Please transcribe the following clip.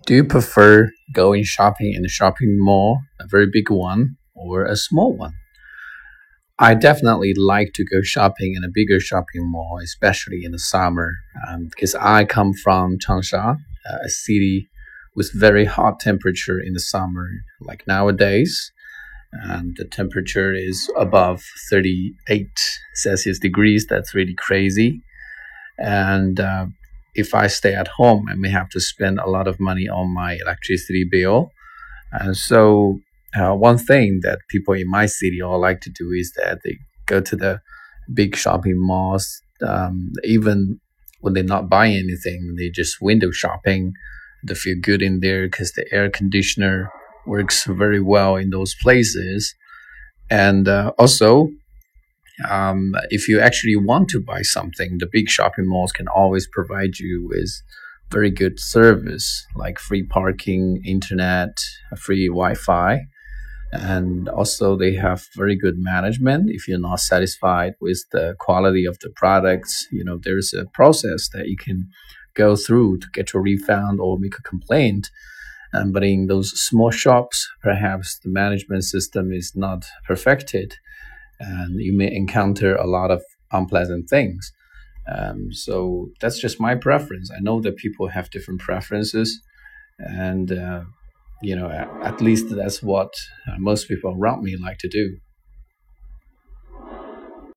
Do you prefer going shopping in a shopping mall, a very big one, or a small one? I definitely like to go shopping in a bigger shopping mall, especially in the summer, because I come from Changsha, a city with very hot temperature in the summer, like nowadays, and the temperature is above 38 Celsius degrees. That's really crazy. And if I stay at home, I may have to spend a lot of money on my electricity bill. And so, one thing that people in my city all like to do is that they go to the big shopping malls, even when they're not buying anything, they just window shopping. They feel good in there because the air conditioner works very well in those places. And also, if you actually want to buy something, the big shopping malls can always provide you with very good service like free parking, internet, free Wi-Fi, and also they have very good management. If you're not satisfied with the quality of the products, there's a process that you can go through to get your refund or make a complaint. But in those small shops, perhaps the management system is not perfected and you may encounter a lot of unpleasant things. So that's just my preference. I know that people have different preferences, and at least that's what most people around me like to do.